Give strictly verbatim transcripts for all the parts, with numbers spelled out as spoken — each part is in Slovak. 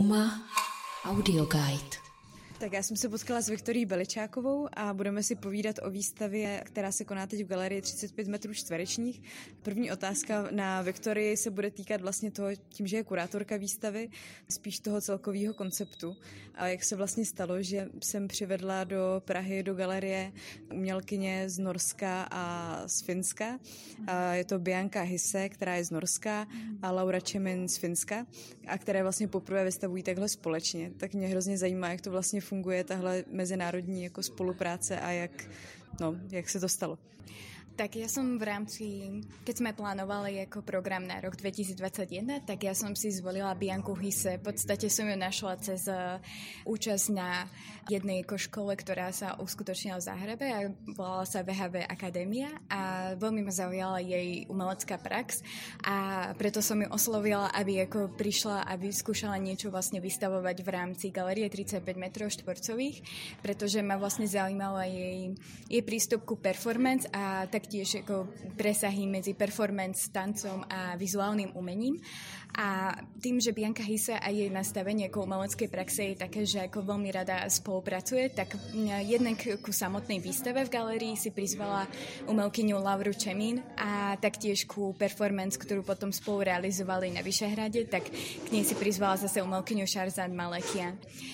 Trauma Audio Guide. Tak já jsem se potkala s Viktorií Beličákovou a budeme si povídat o výstavě, která se koná teď v galerii třicet pět metrů čtverečních. První otázka na Viktorii se bude týkat vlastně toho, tím, že je kurátorka výstavy, spíš toho celkového konceptu. A jak se vlastně stalo, že jsem přivedla do Prahy, do galerie umělkyně z Norska a z Finska. A je to Bianca Hisse, která je z Norska, a Laura Čemin z Finska, a které vlastně poprvé vystavují takhle společně. Tak mě hrozně zajímá, jak to vlastně funguje tahle mezinárodní jako spolupráce a jak, no, jak se to stalo. Tak ja som v rámci, keď sme plánovali ako program na rok dvetisícdvadsaťjeden, tak ja som si zvolila Bianku Hisse. V podstate som ju našla cez účasť na jednej ako škole, ktorá sa uskutočnila v Záhrebe a volala sa vé há vé Akadémia a veľmi ma zaujala jej umelecká prax a preto som ju oslovila, aby ako prišla, aby skúšala niečo vlastne vystavovať v rámci galerie tridsaťpäť metrov štvorcových, pretože ma vlastne zaujímala jej, jej prístup ku performance a tak tiež ako presahy medzi performance, tancom a vizuálnym umením. A tým, že Bianca Hisse a jej nastavenie ako umeleckej praxe je také, že ako veľmi rada spolupracuje, tak jednak ku samotnej výstave v galérii si prizvala umelkyňu Lauru Čemín a taktiež ku performance, ktorú potom spolu realizovali na Vyšehrade, tak k nej si prizvala zase umelkyňu Šarzan Malekian.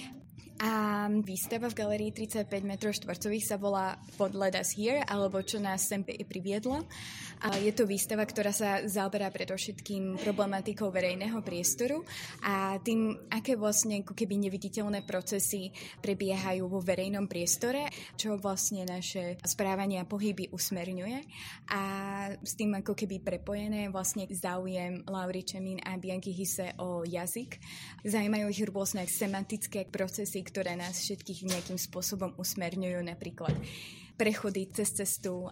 A výstava v galerii tridsaťpäť metrov štvorcových sa volá What Led Us Here, alebo Čo nás sem priviedla. A je to výstava, ktorá sa zaoberá predovšetkým problematikou verejného priestoru a tým, aké vlastne ako keby neviditeľné procesy prebiehajú vo verejnom priestore, čo vlastne naše správanie a pohyby usmerňuje. A s tým ako keby prepojené vlastne záujem Laury Čemín a Bianky Hisse o jazyk. Zaujímajú ich rôzne semantické procesy, ktoré nás všetkých nejakým spôsobom usmerňujú, napríklad prechody cez cestu.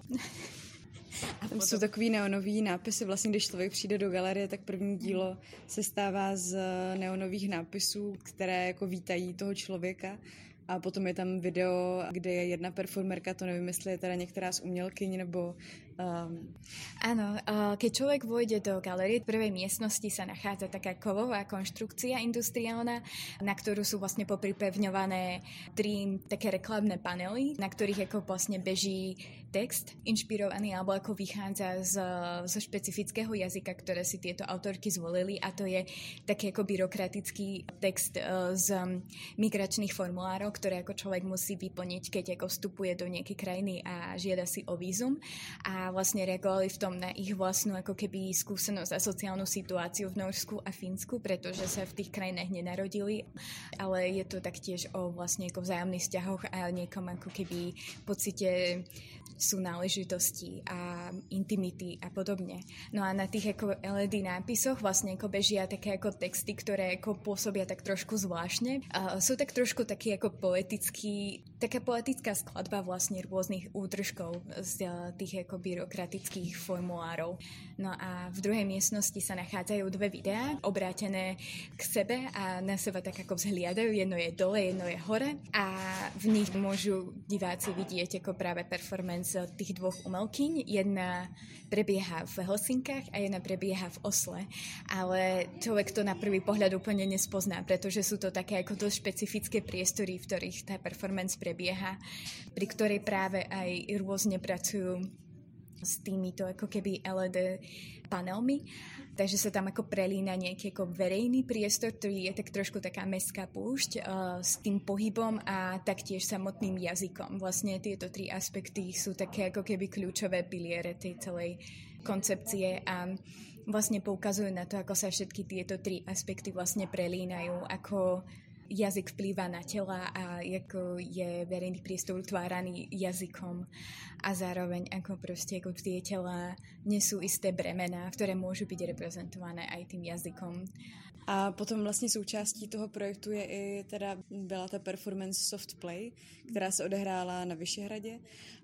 A tam jsou takový neonový nápisy, vlastně když člověk přijde do galerie, tak první dílo se stává z neonových nápisů, které jako vítají toho člověka. A potom je tam video, kde je jedna performerka, to nevím, jestli je teda některá z umělkyň, nebo... Um... Áno, keď človek vôjde do galerie, v prvej miestnosti sa nachádza taká kovová konštrukcia industriálna, na ktorú sú vlastne popripevňované tri také reklamné panely, na ktorých ako vlastne beží text inšpirovaný, alebo ako vychádza z, zo špecifického jazyka, ktoré si tieto autorky zvolili, a to je taký ako byrokratický text z migračných formulárov, ktoré ako človek musí vyplniť, keď ako vstupuje do nejakej krajiny a žiada si o vízum. A vlastne reagovali v tom na ich vlastnú ako keby skúsenosť a sociálnu situáciu v Norsku a Fínsku, pretože sa v tých krajinách nenarodili, ale je to taktiež o vlastne ako vzájomných vzťahoch a niekom ako keby pocite súnáležitosti a intimity a podobne. No a na tých ako el é dé nápisoch vlastne ako bežia také ako texty, ktoré ako pôsobia tak trošku zvláštne. A sú tak trošku taký ako poetický, taká poetická skladba vlastne rôznych útržkov z tých ako byrokratických formulárov. No a v druhej miestnosti sa nachádzajú dve videá obrátené k sebe a na seba tak ako vzhliadajú. Jedno je dole, jedno je hore a v nich môžu diváci vidieť ako práve performance tých dvoch umelkyň. Jedna prebieha v Helsinkách a jedna prebieha v Osle. Ale človek to na prvý pohľad úplne nespozná, pretože sú to také ako dosť špecifické priestory, v ktorých tá performance prebieha, pri ktorej práve aj rôzne pracujú s týmito ako keby el é dé panelmi. Takže sa tam ako prelína nejaký ako verejný priestor, ktorý je tak trošku taká mestská púšť uh, s tým pohybom a taktiež samotným jazykom. Vlastne tieto tri aspekty sú také ako keby kľúčové piliere tej celej koncepcie a vlastne poukazujú na to, ako sa všetky tieto tri aspekty vlastne prelínajú, ako jazyk vplýva na tela a ako je verejný priestor utváraný jazykom a zároveň ako proste ako tie tela nesú isté bremená, ktoré môžu byť reprezentované aj tým jazykom. A potom vlastně součástí toho projektu je i teda byla ta performance Soft Play, která se odehrála na Vyšehradě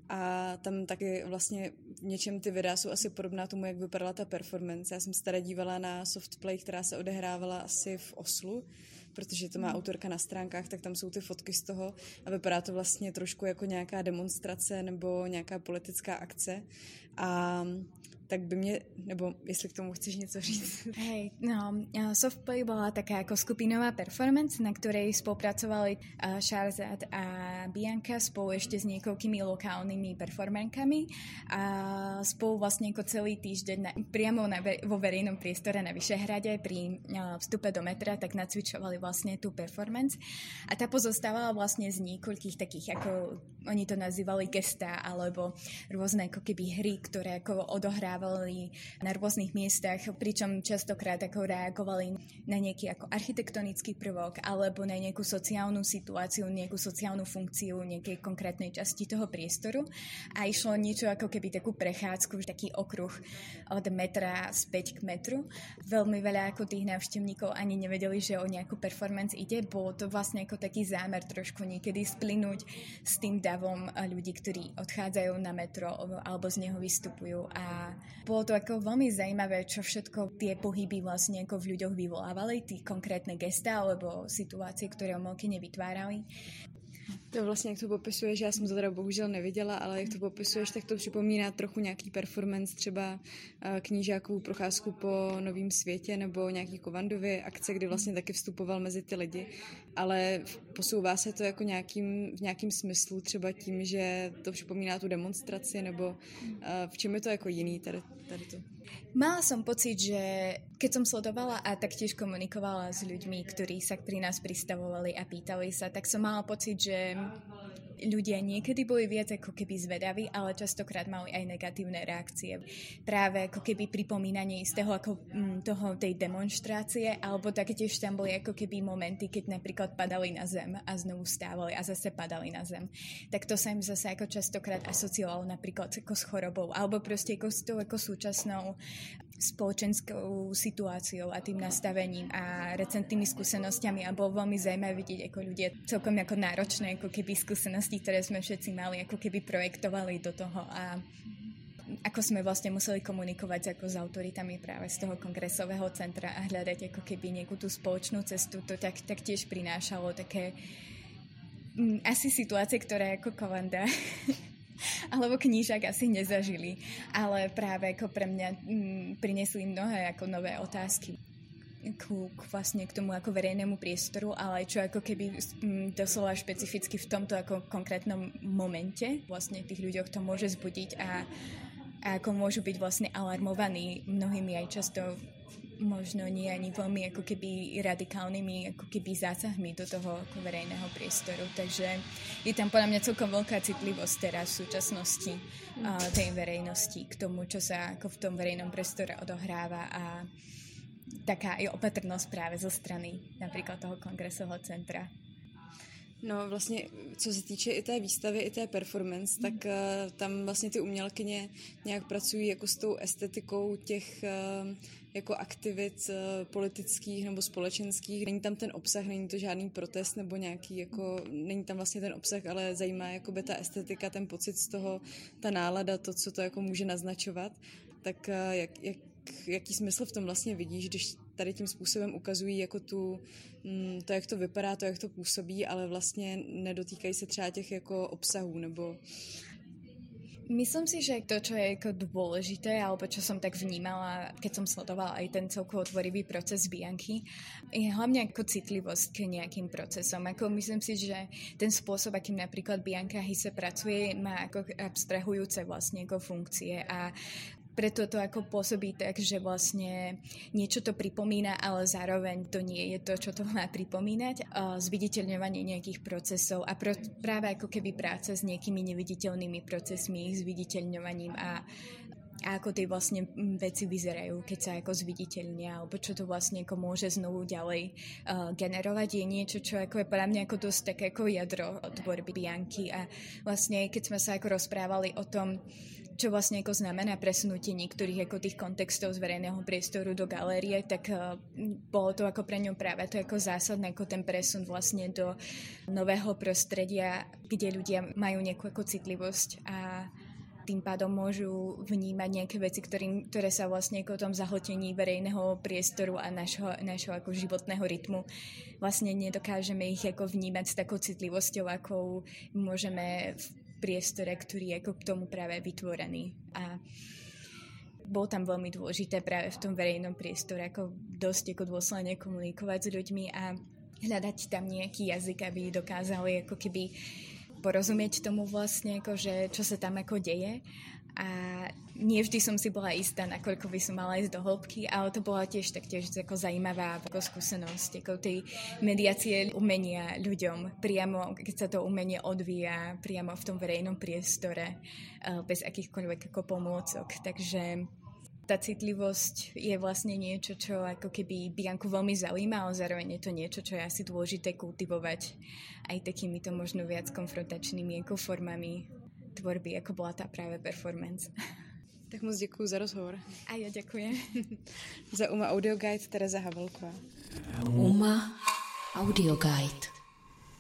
a tam taky vlastně v něčem ty videa jsou asi podobná tomu, jak vypadala ta performance. Já jsem se teda dívala na Soft Play, která se odehrávala asi v Oslu, protože to má autorka na stránkách, tak tam jsou ty fotky z toho a vypadá to vlastně trošku jako nějaká demonstrace nebo nějaká politická akce. A tak by mě, nebo jestli k tomu chceš něco říct. Hej, no, Softplay bola taká ako skupinová performance, na ktorej spolupracovali Shahrzad a Bianca spolu ešte s niekoľkými lokálnymi performerkami a spolu vlastne ako celý týždeň na, priamo na, vo verejnom priestore na Vyšehrade pri vstupe do metra tak nacvičovali vlastne tú performance a tá pozostávala vlastne z niekoľkých takých, ako oni to nazývali gestá alebo rôzne ako keby hry, ktoré ako odohrávali na rôznych miestach, pričom častokrát ako reagovali na nejaký ako architektonický prvok alebo na nejakú sociálnu situáciu, nejakú sociálnu funkciu nejakej konkrétnej časti toho priestoru a išlo niečo ako keby takú prechádzku, taký okruh od metra späť k metru. Veľmi veľa ako tých návštevníkov ani nevedeli, že o nejakú performance ide, bolo to vlastne ako taký zámer trošku niekedy splynúť s tým davom ľudí, ktorí odchádzajú na metro alebo z neho vystupujú a bolo to ako veľmi zaujímavé, čo všetko tie pohyby vlastne ako v ľuďoch vyvolávali, tí konkrétne gestá alebo situácie, ktoré umelkyne vytvárali. To vlastně, jak to popisuješ, já jsem to teda bohužel neviděla, ale jak to popisuješ, tak to připomíná trochu nějaký performance, třeba knížákovou procházku po Novém světě nebo nějaký Kovandovy akce, kdy vlastně taky vstupoval mezi ty lidi, ale posouvá se to jako nějakým, v nějakým smyslu, třeba tím, že to připomíná tu demonstraci, nebo v čem je to jako jiný tady, tady to? Mala som pocit, že keď som sledovala a taktiež komunikovala s ľuďmi, ktorí sa pri nás pristavovali a pýtali sa, tak som mala pocit, že ľudia niekedy boli viac ako keby zvedaví, ale častokrát mali aj negatívne reakcie. Práve ako keby pripomínanie istého ako m, toho, tej demonštrácie, alebo taktiež tam boli ako keby momenty, keď napríklad padali na zem a znovu stávali a zase padali na zem. Tak to sa im zase ako častokrát asociovalo napríklad ako s chorobou, alebo proste ako s tou ako súčasnou spoločenskou situáciou a tým nastavením a recentnými skúsenosťami a bolo veľmi zaujímavé vidieť, ako ľudia celkom ako náročné, ako keby skúsenosti, ktoré sme všetci mali, ako keby projektovali do toho a ako sme vlastne museli komunikovať ako s autoritami práve z toho kongresového centra a hľadať ako keby nejakú tú spoločnú cestu, to tak, tak tiež prinášalo také m, asi situácie, ktoré ako Kovanda alebo knížak asi nezažili, ale práve ako pre mňa m, priniesli mnohé ako nové otázky ku, k vlastne k tomu ako verejnému priestoru, ale čo ako keby m, doslova špecificky v tomto ako konkrétnom momente vlastne tých ľuďoch to môže zbudiť a, a ako môžu byť vlastne alarmovaní mnohými aj často možno nie ani veľmi ako keby radikálnymi ako keby zásahmi do toho ako verejného priestoru. Takže je tam podľa mňa celkom veľká citlivosť teraz v súčasnosti uh, tej verejnosti k tomu, čo sa ako v tom verejnom priestore odohráva a taká aj opatrnosť práve zo strany napríklad toho kongresového centra. No vlastně, co se týče i té výstavy, i té performance, mm. tak uh, tam vlastně ty umělkyně nějak pracují jako s tou estetikou těch uh, jako aktivit uh, politických nebo společenských. Není tam ten obsah, není to žádný protest nebo nějaký, jako, není tam vlastně ten obsah, ale zajímá jakoby ta estetika, ten pocit z toho, ta nálada, to, co to jako může naznačovat. Tak uh, jak, jak, jaký smysl v tom vlastně vidíš, když tady tím způsobem ukazují jako tu, to, jak to vypadá, to, jak to působí, ale vlastně nedotýkají se třeba těch jako obsahů, nebo... Myslím si, že to, čo je ako dôležité, alebo čo som tak vnímala, keď som sledovala aj ten celkovo tvorivý proces Bianky, je hlavne ako citlivosť k nejakým procesom. Ako myslím si, že ten spôsob, akým napríklad Bianca Hisse pracuje, má ako abstrahujúce vlastne ako funkcie a preto to ako pôsobí tak, že vlastne niečo to pripomína, ale zároveň to nie je to, čo to má pripomínať. Zviditeľňovanie nejakých procesov a pro, práve ako keby práca s nejakými neviditeľnými procesmi, ich zviditeľňovaním a, a ako tie vlastne veci vyzerajú, keď sa ako zviditeľnia, alebo čo to vlastne ako môže znovu ďalej uh, generovať, je niečo, čo ako je podľa mňa ako dosť také ako jadro tvorby Bianky a vlastne keď sme sa ako rozprávali o tom, čo vlastne ako znamená presunutie niektorých ako tých kontextov z verejného priestoru do galérie, tak uh, bolo to ako pre ňu práve to ako zásadné, ako ten presun vlastne do nového prostredia, kde ľudia majú nejakú ako citlivosť a tým pádom môžu vnímať nejaké veci, ktorým, ktoré sa vlastne ako o tom zahltení verejného priestoru a našho, našho ako životného rytmu vlastne nedokážeme ich ako vnímať s takou citlivosťou, akou môžeme v priestore, ktorý je ako k tomu práve vytvorený. A bol tam veľmi dôležité práve v tom verejnom priestore, ako dosť ako dôsledne komunikovať s ľuďmi a hľadať tam nejaký jazyk, aby dokázali ako keby porozumieť tomu vlastne, ako, že čo sa tam ako deje. A nie vždy som si bola istá, nakoľko by som mala ísť do hĺbky, ale to bola tiež taktiež ako zaujímavá ako skúsenosť, ako tej mediácie umenia ľuďom, priamo, keď sa to umenie odvíja priamo v tom verejnom priestore, bez akýchkoľvek ako pomôcok. Takže tá citlivosť je vlastne niečo, čo ako keby Bianku veľmi zaujíma, ale zároveň je to niečo, čo je asi dôležité kultivovať aj takýmito možno viac konfrontačnými ako formami tvorby, ako bola tá práve performance. Tak moc děkuji za rozhovor. A ja ďakujem. Za UMA Audio Guide Tereza Havelková. UMA Audio Guide.